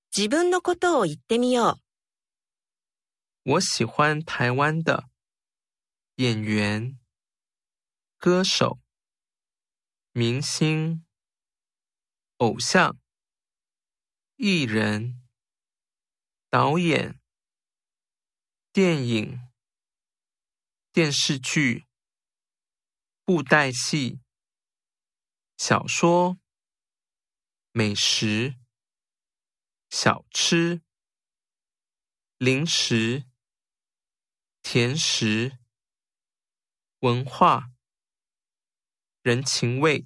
自分のことを言ってみよう。 我喜欢台湾的演员、歌手、明星、偶像、艺人、导演、电影、电视剧、布袋戏、小说、美食、小吃、零食、甜食、文化、人情味。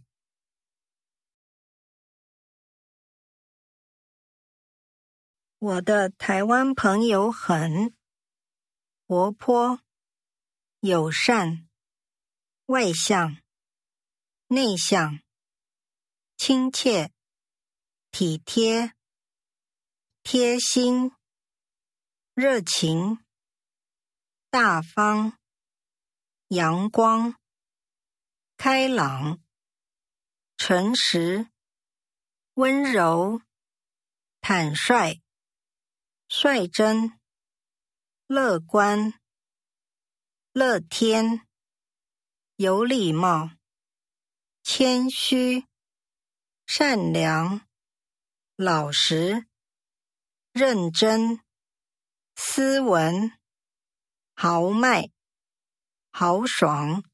我的台湾朋友很活泼、友善、外向、内向、亲切、体贴、贴心、热情、大方、阳光、开朗、诚实、温柔、坦率、率真、乐观、乐天、有礼貌、谦虚、善良、老实、认真、斯文、豪迈、豪爽、